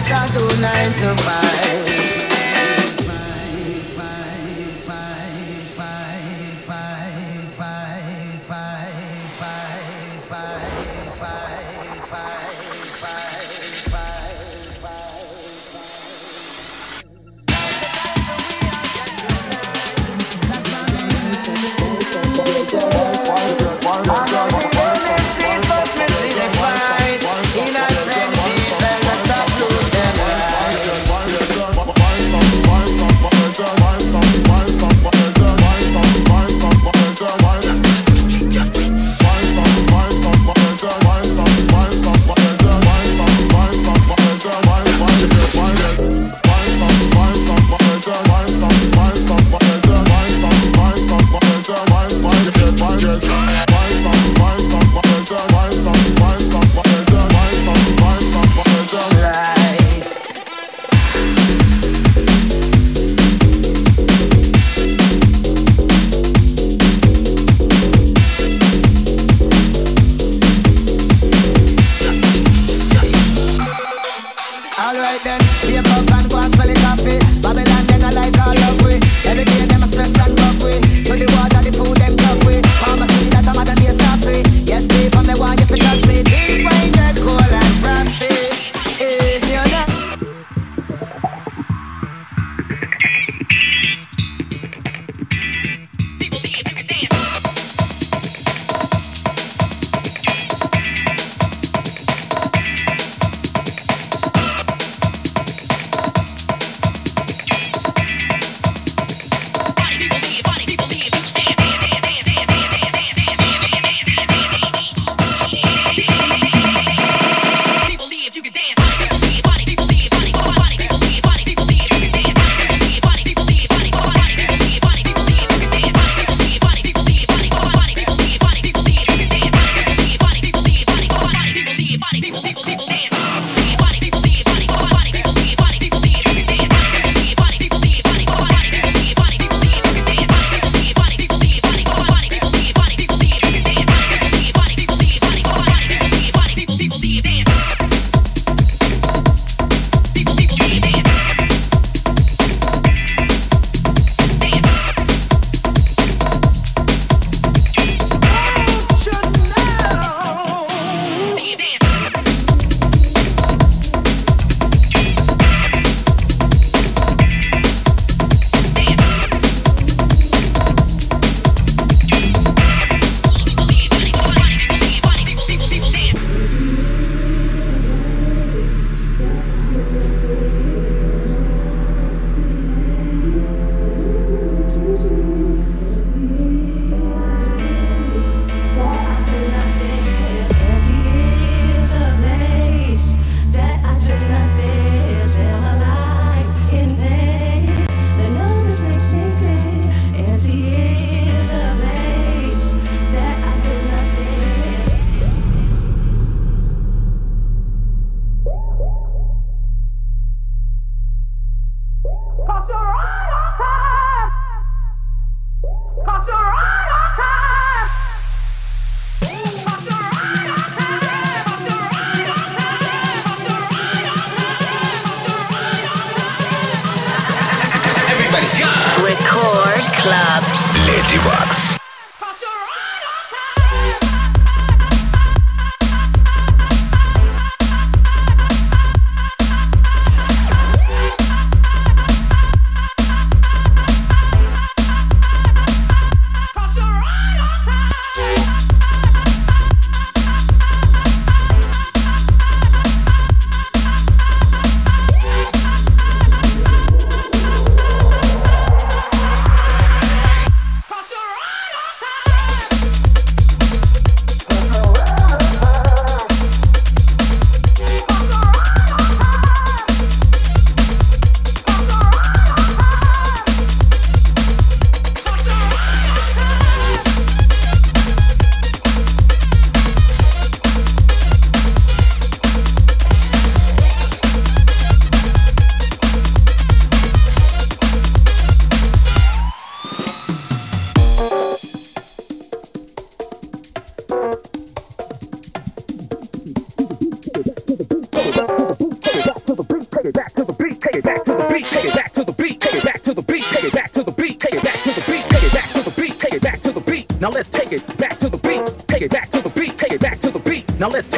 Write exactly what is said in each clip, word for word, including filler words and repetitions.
just a do nine to five. Леди Вакс.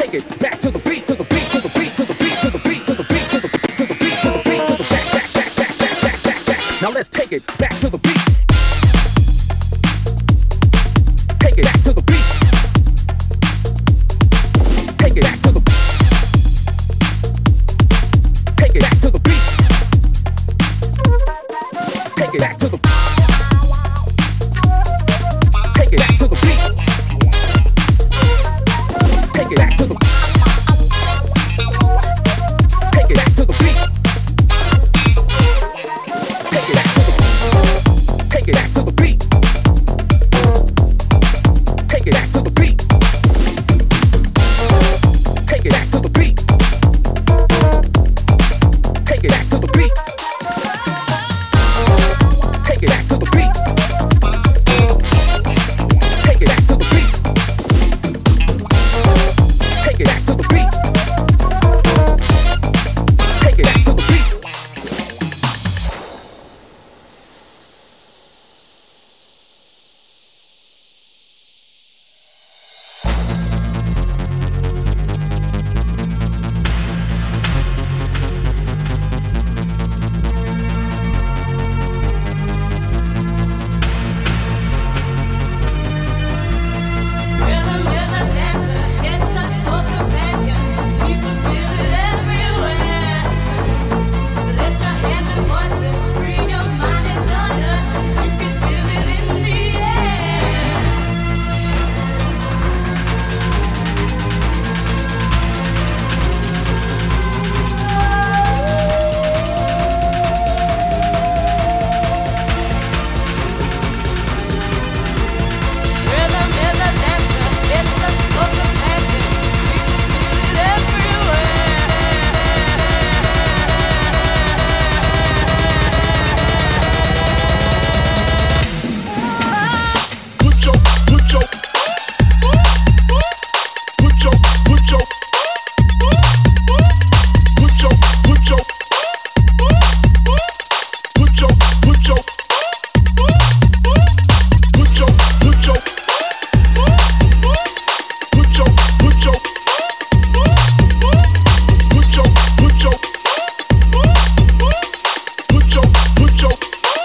take it back to the beat, to the beat, to the beat, to the beat, to the beat, to the beat, to the beat, to the beat, to the beat, to the back, back, back, back, back, back, back, back. Now let's take it back to the beat. Take it back to the beat. Take it back to the. Take it back to the beat. Take it back to the. Take it back to the beat. Take it back to the. Take it back to the beat. Take it back to the. Take it back to the beat. Take it back to the beat. Take it back to the beat. Take it back to the beat. Take it back to the beat. Take it back to the beat. Take it back to the beat. Take it back to the beat. Rhythm is a dancer, it's a soul's companion. People feel it everywhere. Lift your hands and voices, free your mind and join us. You can feel it in the air. Rhythm is a dancer, it's a soul's companion. People feel it everywhere. Put your, put your, put your, put your, put your, put your, put your, put your, put your, put your, put your, put your, put your, put your, put your, put your.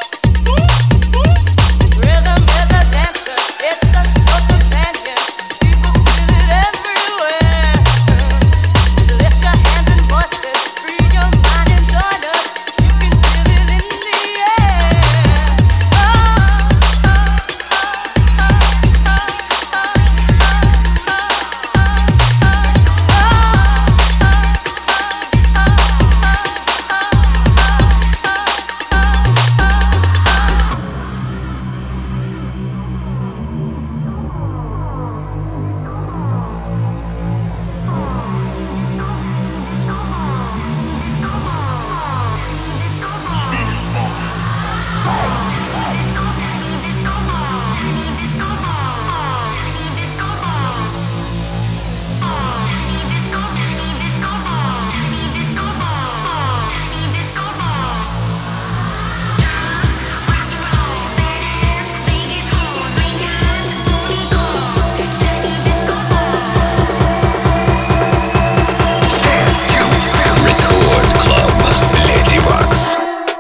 Rhythm is a dancer, it's a soul's companion. People feel it everywhere. Lift your hands and voices, free your mind and join us. You can feel it in the air. Oh, oh, Record Club Lady Wax.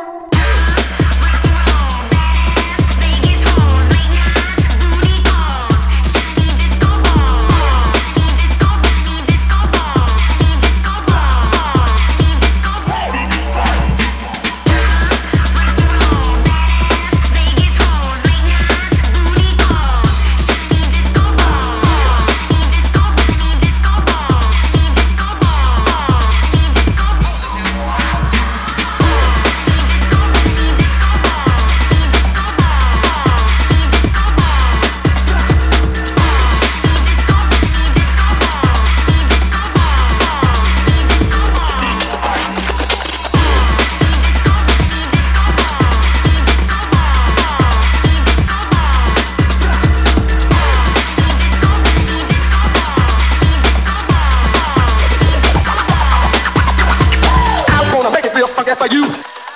For you,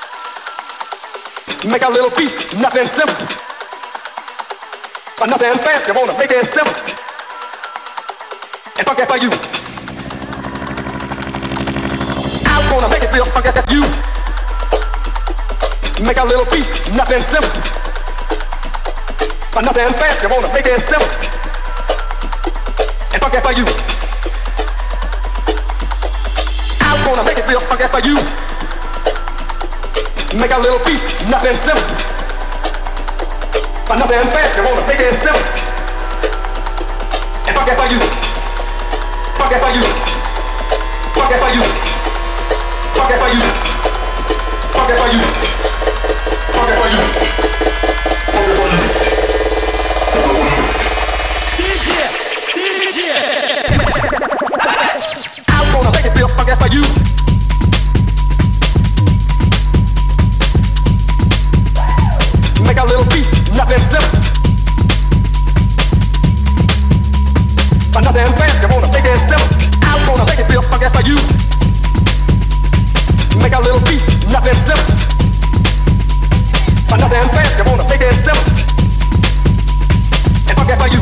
make a little beat, nothing simple, but nothing fancy. Wanna make it simple and funk it for you. it feel funky, that's you. Make a little beat, nothing simple. But nothing fast, you wanna make it simple. And funky for you. I'm gonna make it feel funky for you. Make a little beat, nothing simple. But nothing fast, you wanna make it simple. And funky for you. Funky for you. Funky for you. Funky for you. Funky for you. Funky for you. Funky for you. D J, D J. I'm gonna make it feel funky for you. Make a little beat, nothing simple. But nothing fast, you wanna make it simple. I'm gonna make it feel funky for you. Make a little beat, nothing simple. But nothing fast, you wanna make it simple. And funky for you.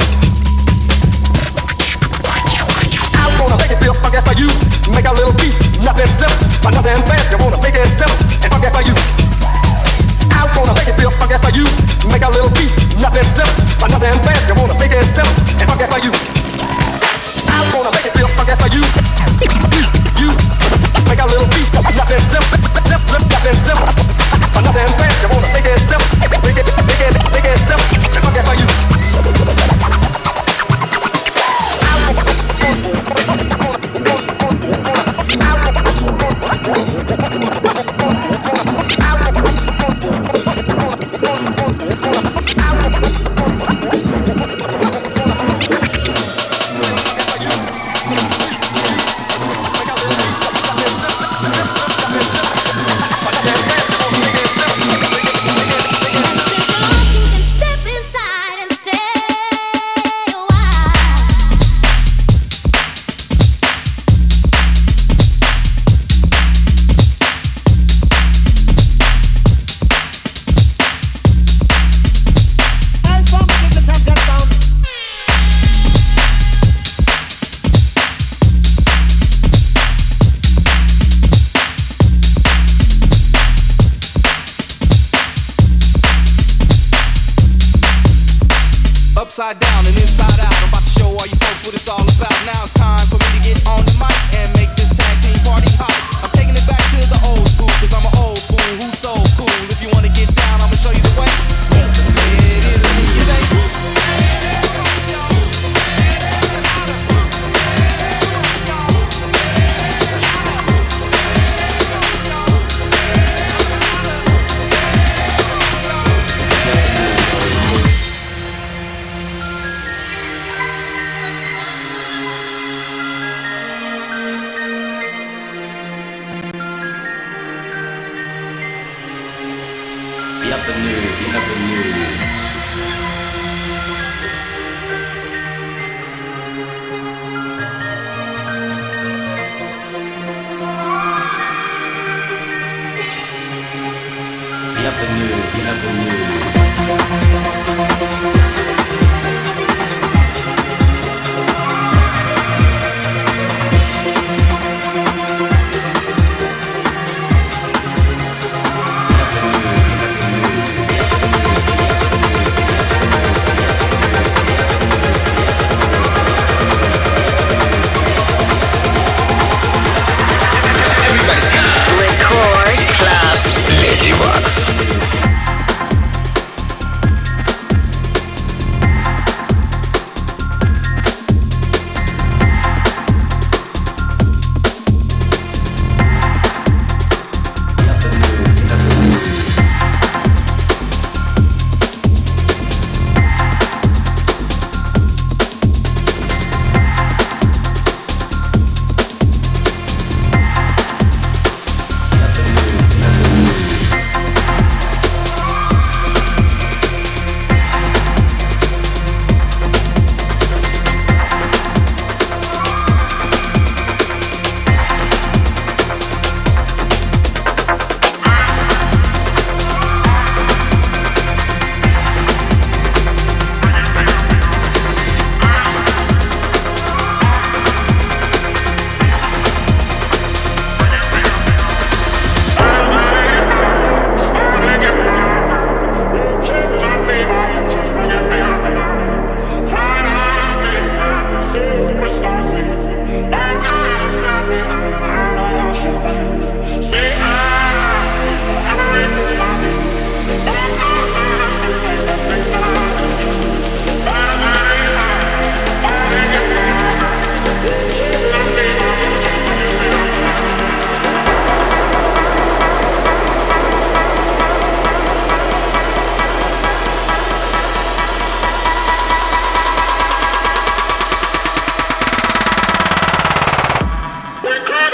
I'm gonna make it feel funky for you. Make a little beat, nothing simple. But nothing fast, you wanna make it simple. And funky for you. I'm gonna make it feel funky for you. Make a little beat, nothing simple. But nothing fast, you wanna make it simple. And funky for you. I'm gonna make it feel funky for you. You, you. Make a little beat, nothing simple. Nothing simple. But nothing fast, you wanna make it simple. Make it, make it, make it simple. And funky for you. Upside down and inside out. I'm about to show all you folks what it's all about. Now it's time for me to get on the mic and make this tag team party hot. I'm taking it back to the old school, cause I'm an old fool who's so cool. If you wanna get down, I'ma show you the way. It is what you say. Record Club. Lady Wax.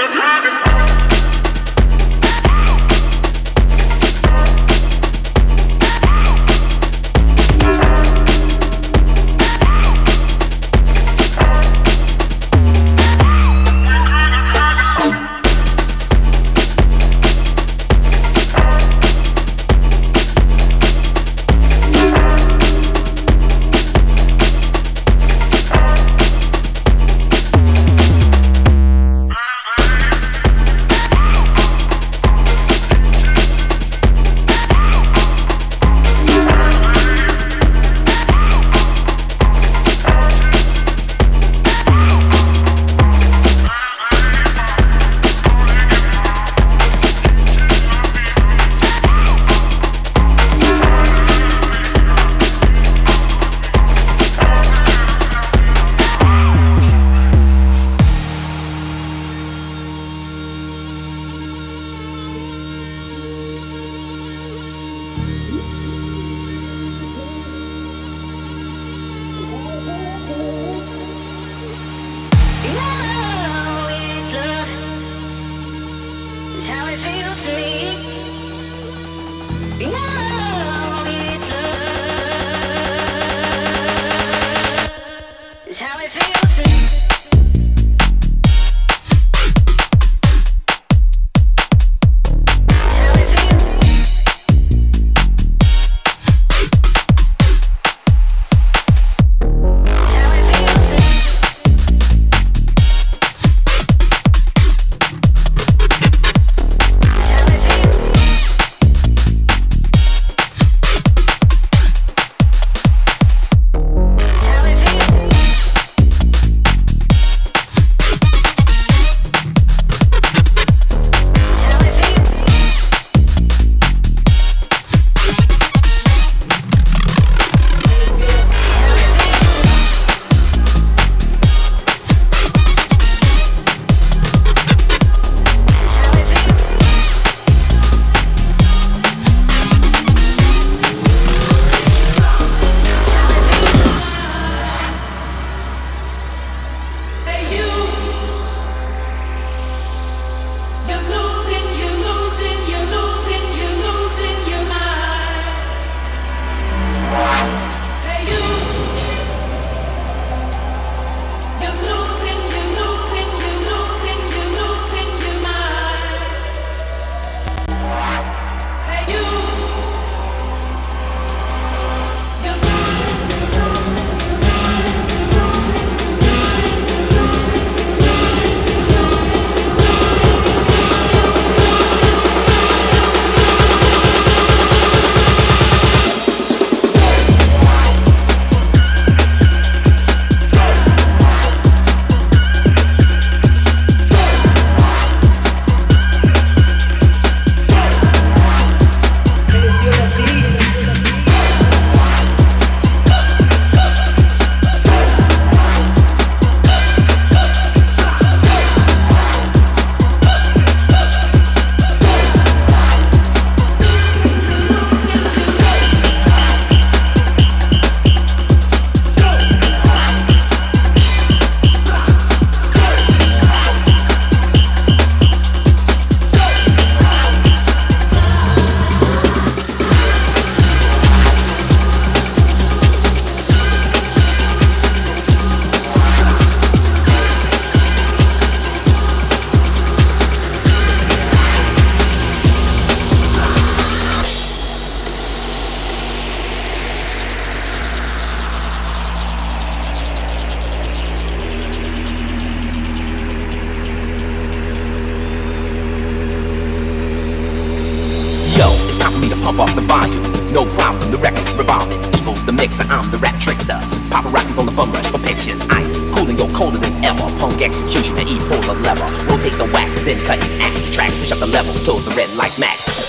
pump up the volume. No problem, the record's revolving. Evil's the mixer, I'm the rap trickster. Paparazzi's on the bum rush for pictures. Ice, cooling, go colder than ever. Punk execution and E-pull the lever. Rotate the wax, then cut it at the track. Push up the levels till the red lights max.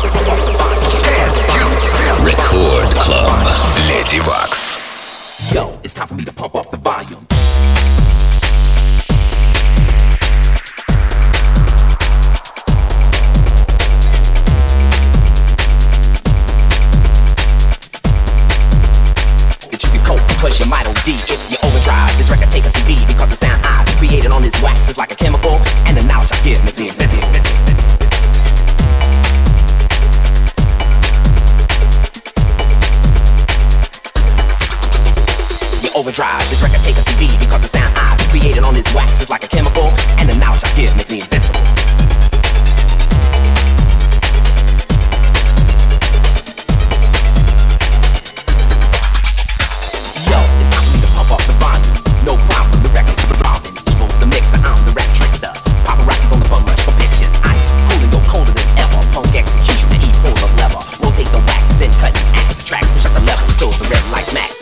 Yo, Yo, it's time for me to pump up the volume. Plus you might O D if you overdrive. This record take a C D because the sound I've created on this wax is like a chemical, and the knowledge I give makes me invincible. You overdrive. This record take a C D because the sound I've created on this wax is like a chemical, and the knowledge I give makes me invincible. No problem, the record's revolving. Evil's the mixer, I'm the rap trickster. Paparazzi's on the bum rush for pictures. Ice, cooling, go colder than ever. Punk execution, the E pull of lever. Rotate the wax, then cut and act the track. Push up the level till the red lights match.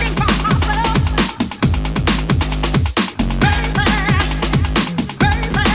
Body.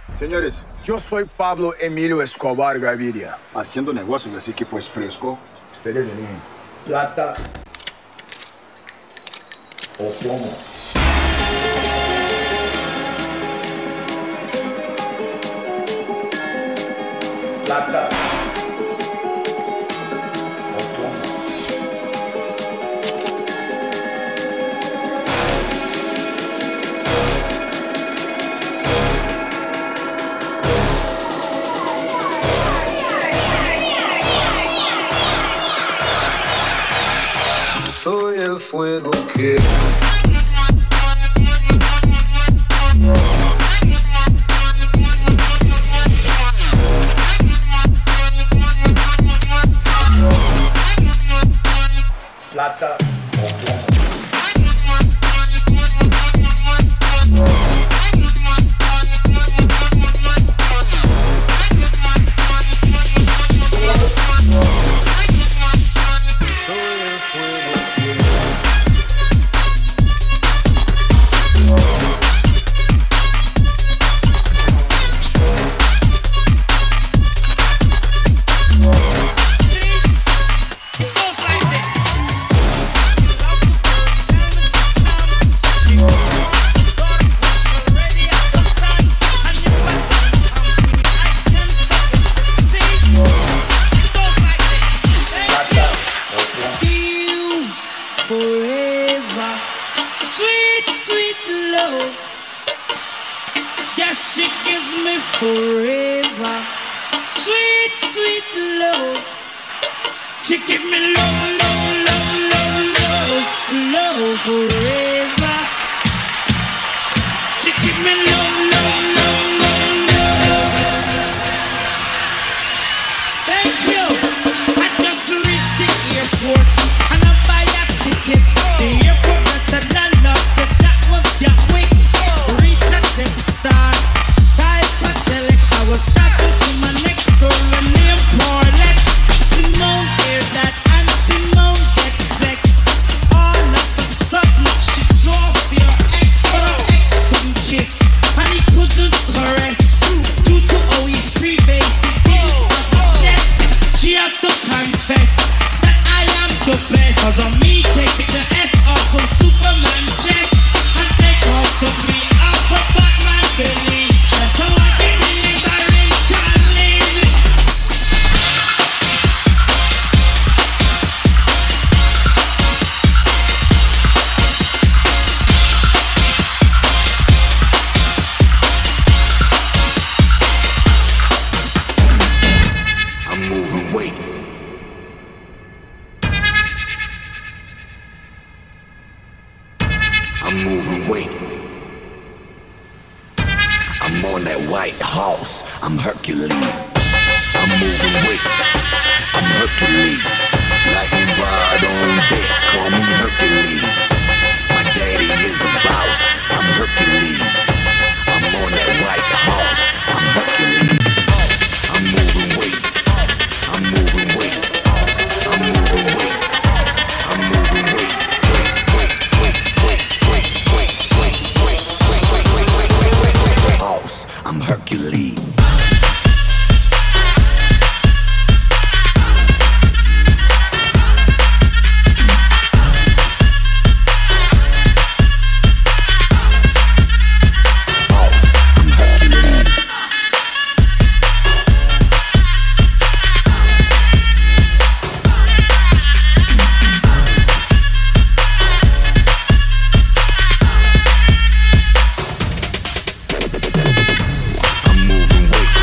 Señores, yo soy Pablo Emilio Escobar Gaviria, haciendo negocios, así que pues fresco. Ustedes eligen plata o plomo. Plata o plomo. Soy el fuego que plata o plomo. Soy el fuego que forever. Sweet, sweet love. Yeah, she gives me forever. Sweet, sweet love. She give me love, love, love, love, love, love forever. She give me love, love, love, love, love. Thank you. I just reached the airport and I buy a ticket. The airport that the landlord said that was Gatwick. Reach a tech star, type a telex. I was stopping to my next door and named Paulette. Simone hear that and Simone get vexed. All of a sudden she drove your ex, but her ex couldn't kiss and he couldn't caress. Due to how he freebase, he didn't have a chest. She had to confess that I am the best. Cause on me take the S off of Superman chest and take off the B off of Batman belly. That's how I get in the Barrington living. I'm moving weight. I'm moving weight. I'm on that white horse. I'm Hercules. I'm moving weight. I'm Hercules. Lightning rod on deck. Call me Hercules. My daddy is the boss. I'm Hercules. I'm on that white horse. I'm Hercules. I'm moving weight. I'm moving weight. I'm moving weight. I'm moving weight. Wait, wait, wait, wait, wait, wait, wait, wait, wait, wait, wait, wait, wait, wait, wait, wait. Horse, I'm Hercules. I'm moving weight.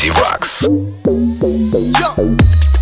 Lady Wax. Yo.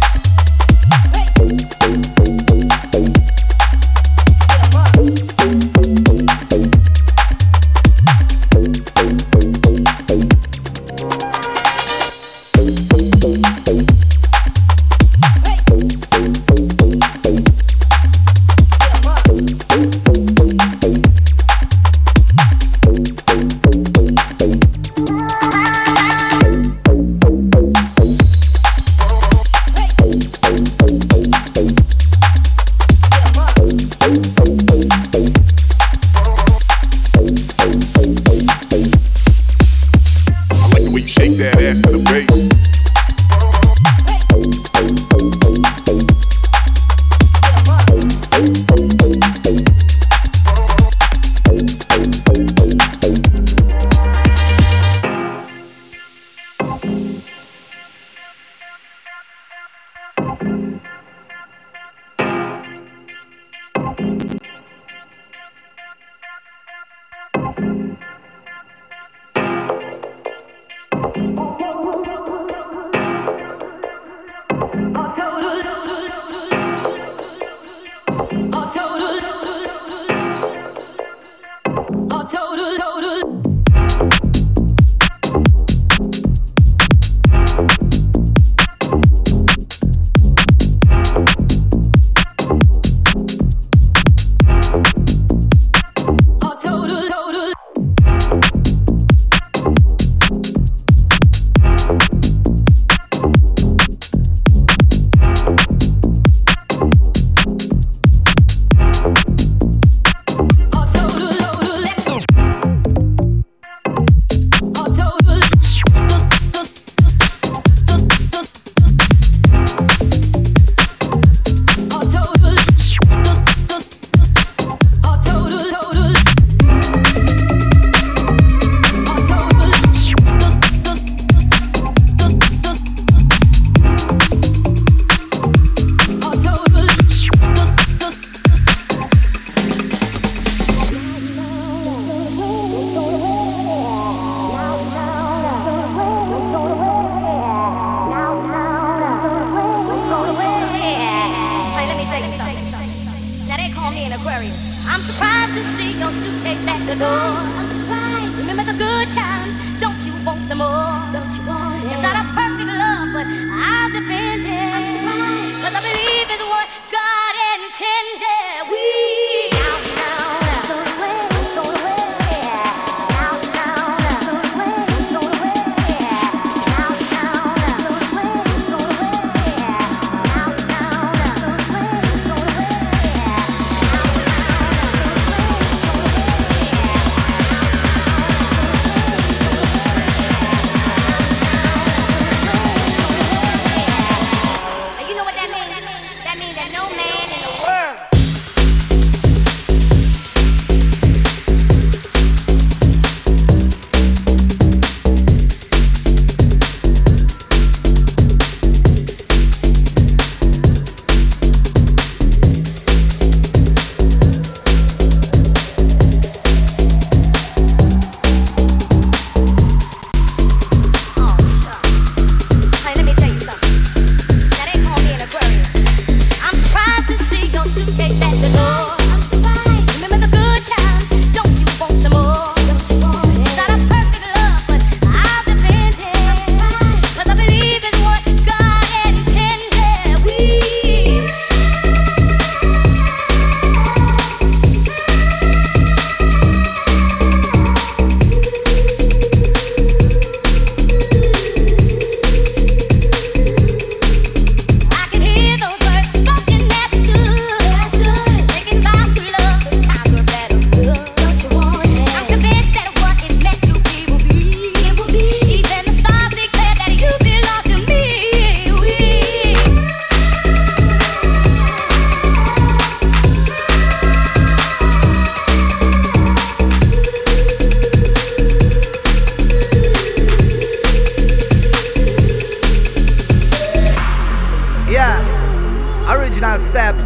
Steps,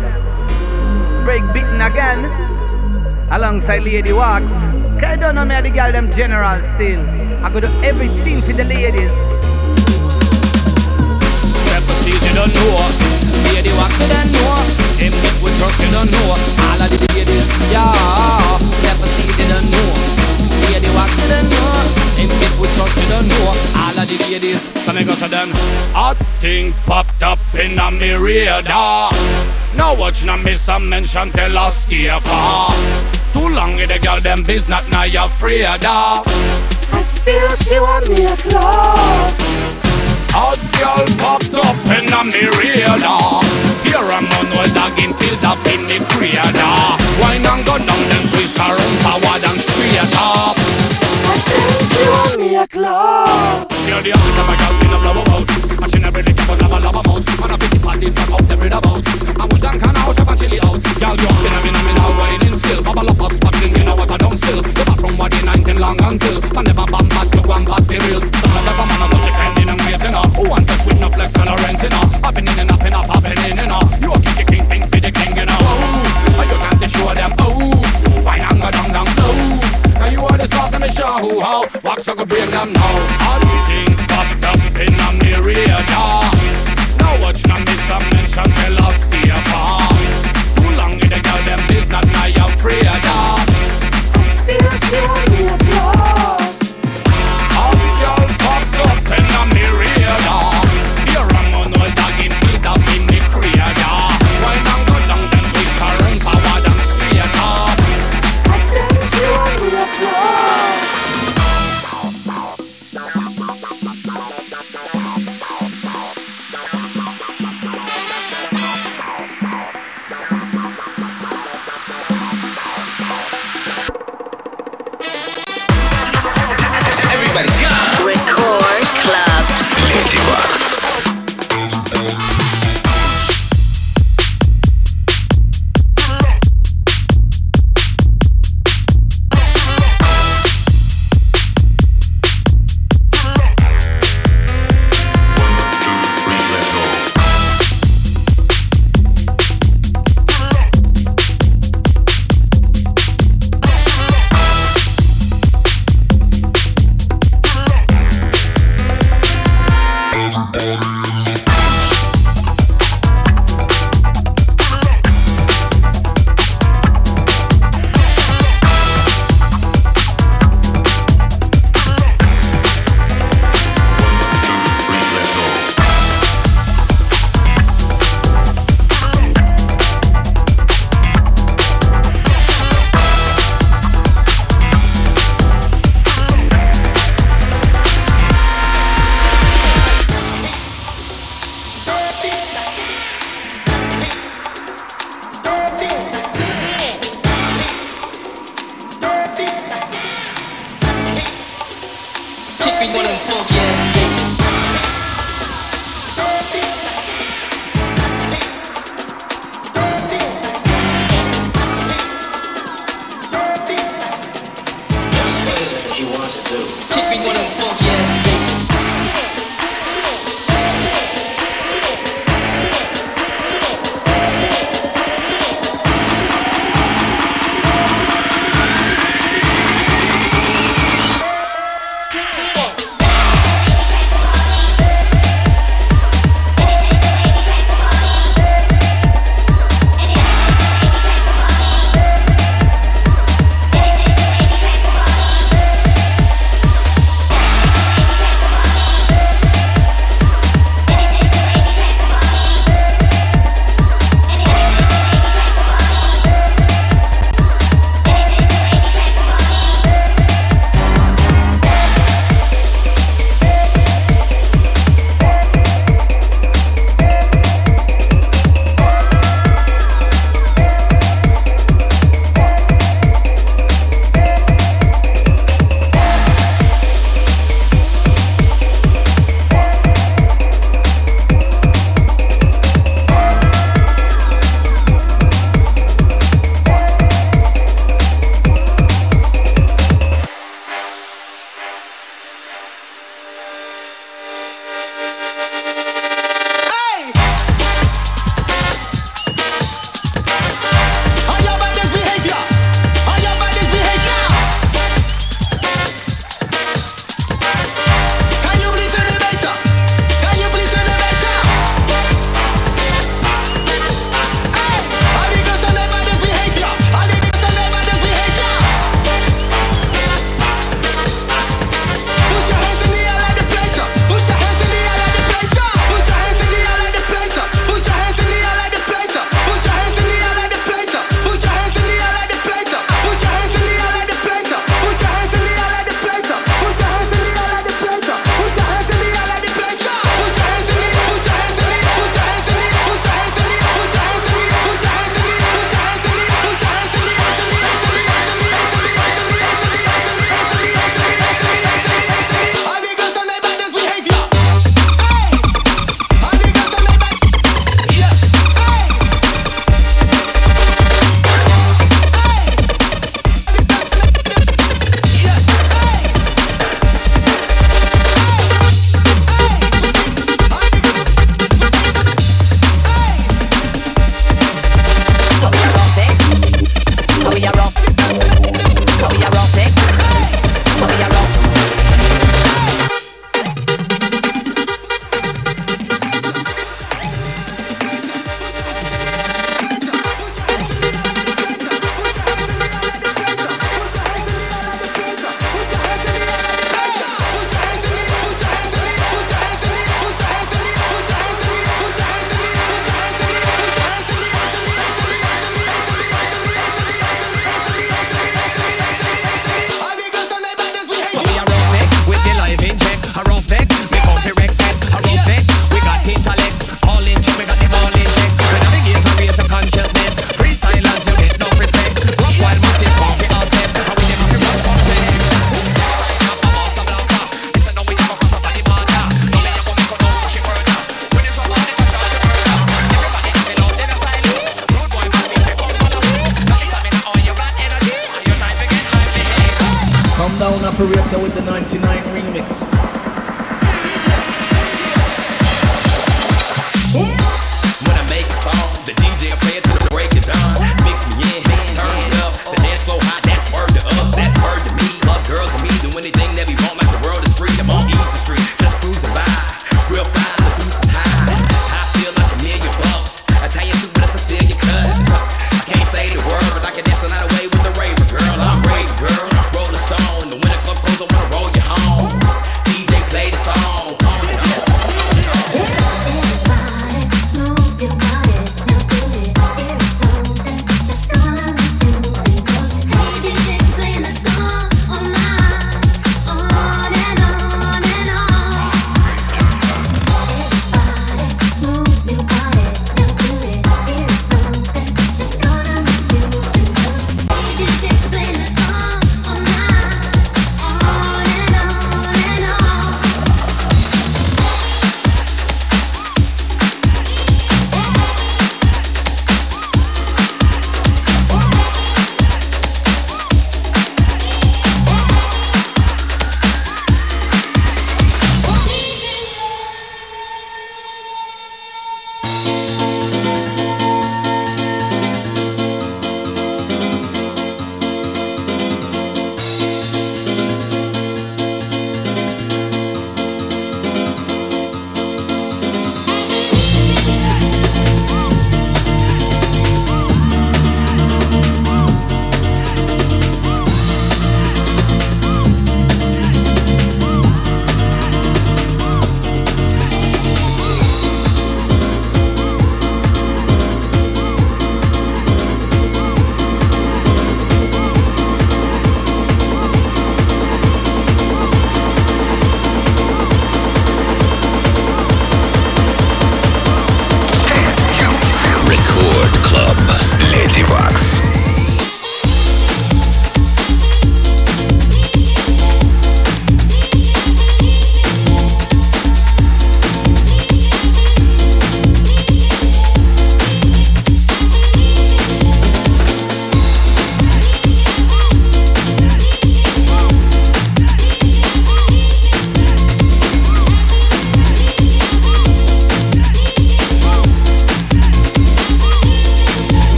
break beating again, alongside Lady Wax. Cause I don't know me, the girl them general still. I go do everything for the ladies. don't know. Lady wax you don't know. Him get with trust you don't know. All of the ladies, yeah. Step and steez you don't know. Lady wax you don't know. Him get with trust you don't know. All of the ladies. So me go say them. Hot thing popped up in a me radar. Now watch na miss some mention tell us stay far. Too long with the girl them business now you afraid of. And still she want me a love. Hot girl popped up in a me radar. Here a man well dog in till up in the crater. Wine and go down then twist her own power and straight up. And still she want me a glove. She had the office of a girl in a blow about. And she never really keep on love a love about. And a pity parties not out there about. And we done can out, and chilly out. Girl you up in a min a min a whining skill. Bubble up us fucking you know what I don't still. Live up from what the nineteen long until. I never bam bad you one bad the real. Some of the man are such a pending and waiting up. Who want us with no flex and a renting up. Hopping in and up and up, hopping in and up. You a kick the king, think be the king you know. Oh, and you can't show them oh. Why not go down down low. Now you are the stuff that me show who how. Wax I could break them now. All the things popped up in a me radar. Now watch na miss some mention tell us stay far. Too long with the girl them business now you afraid of. Still she want me a glove. All the girl popped up in a me radar. Here a man well dog in feet up in the crater. Why not go down then twist her own power and straight up. I think she want me a glove.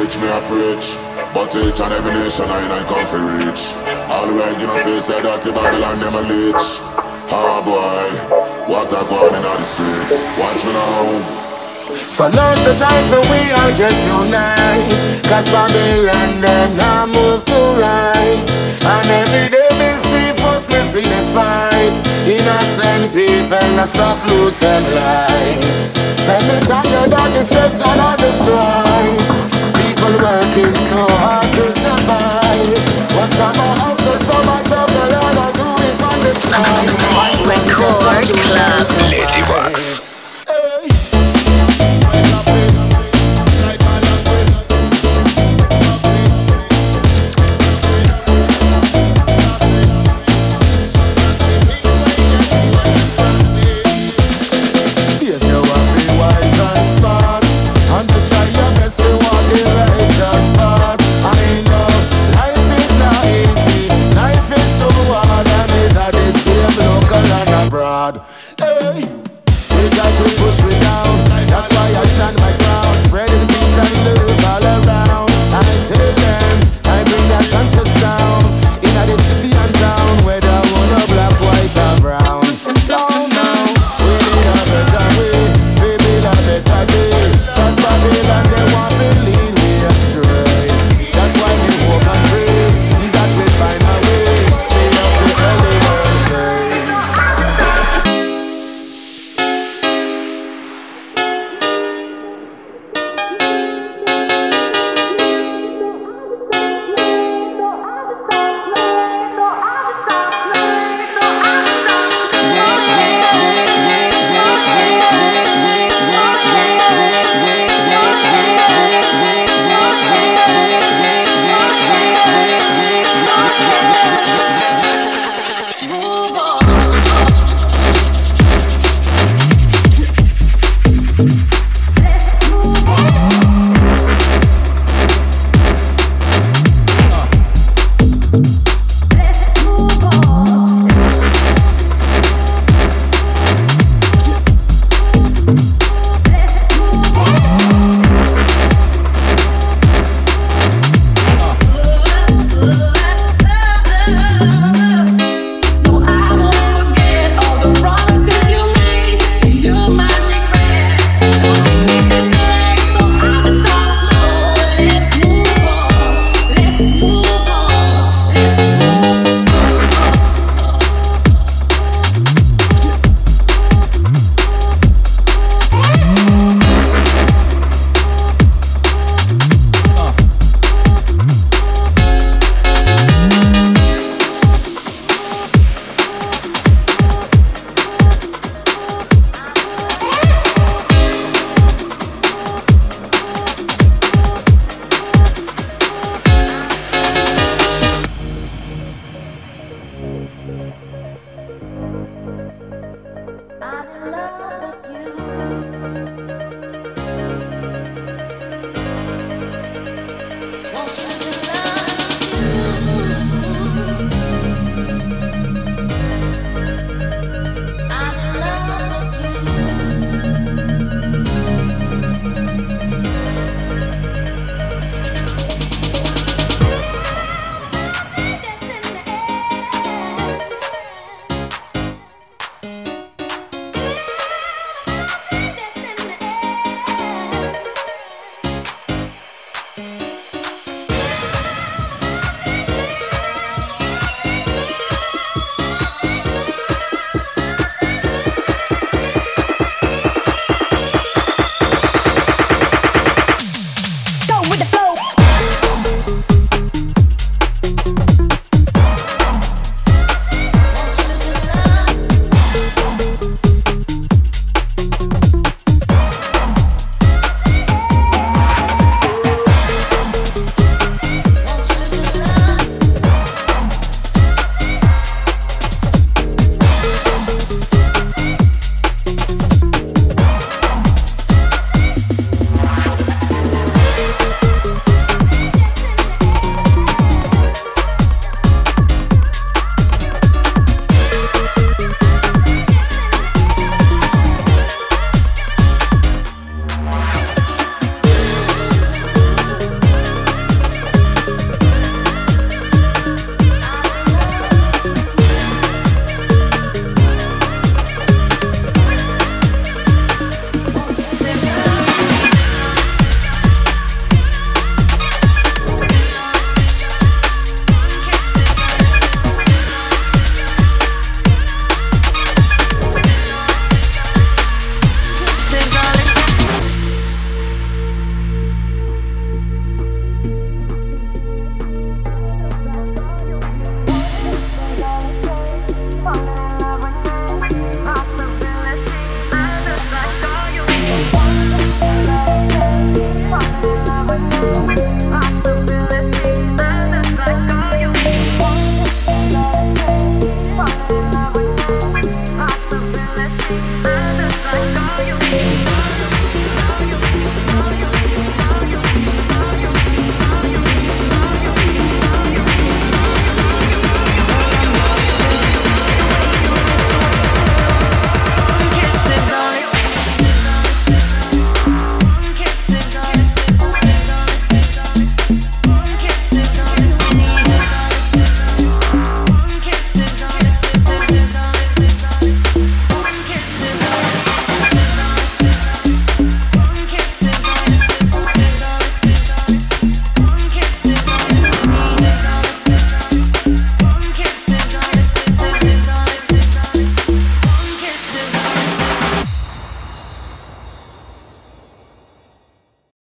preach, me I preach. But each and every nation I ain't come for reach. All the way you know say, say that the Babylon them a leech. Ah boy, what a go on in all the streets. Watch me now. So now's the time for we all just unite. Cause Babylon them now move to right. And every day me see first me see the fight. Innocent people now stop lose them life. Send me tired of the stress and all the strife. People working so hard to survive. What's some of hustle, so much of the Lord I do it on the side. Record Club. Lady Wax.